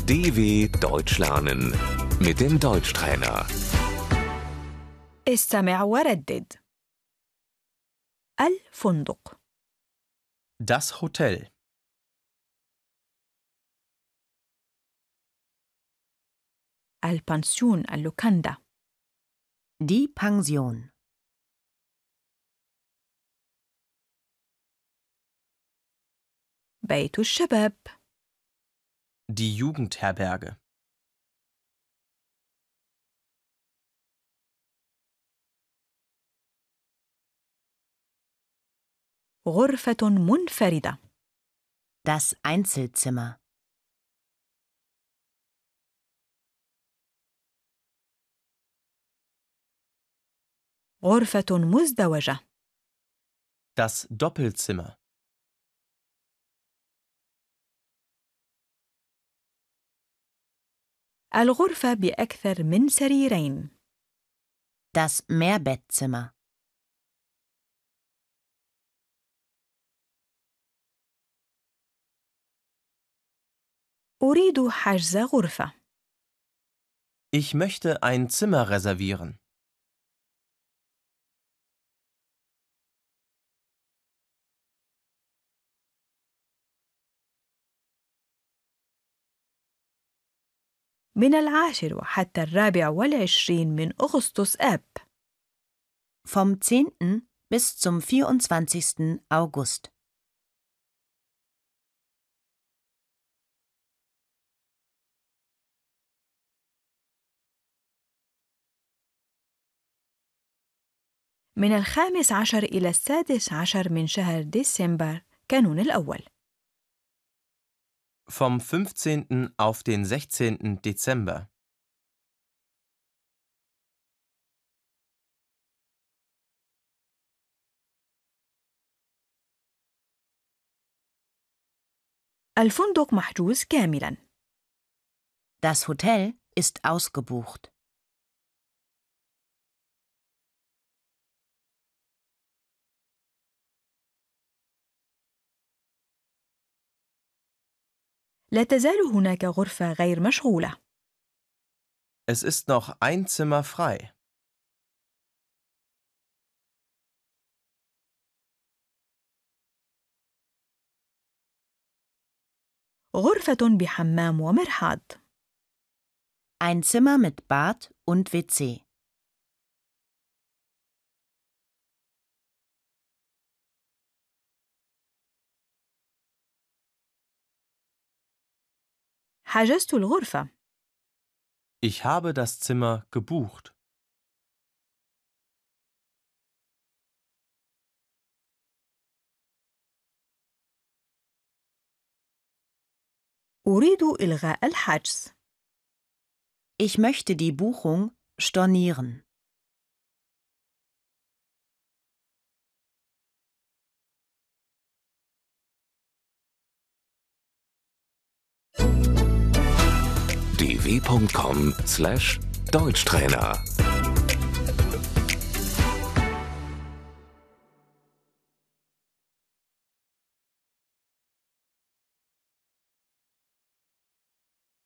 DW Deutsch lernen mit dem Deutschtrainer. استمع وردد. الفندق، Das Hotel. البنسيون اللوكاندا، Die Pension. بيت الشباب، Die Jugendherberge. غرفة منفردة، Das Einzelzimmer. غرفة مزدوجة، Das Doppelzimmer. الغرفة بأكثر من سريرين، Das Mehrbettzimmer. أريد حجز غرفة. Ich möchte ein Zimmer reservieren. من 10 حتى 24 من أغسطس آب. Vom 10. bis zum 24. August. من 15 إلى 16 من شهر ديسمبر كانون الأول. Vom 15. auf den 16. Dezember. الفندق محجوز كاملاً. Das Hotel ist ausgebucht. لا تزال هناك غرفة غير مشغولة. Es ist noch ein Zimmer frei. غرفة بحمام ومرحاض. Ein Zimmer mit Bad und WC. حجزت الغرفة. Ich habe das Zimmer gebucht. أريد إلغاء الحجز. Ich möchte die Buchung stornieren. dw.com/Deutschtrainer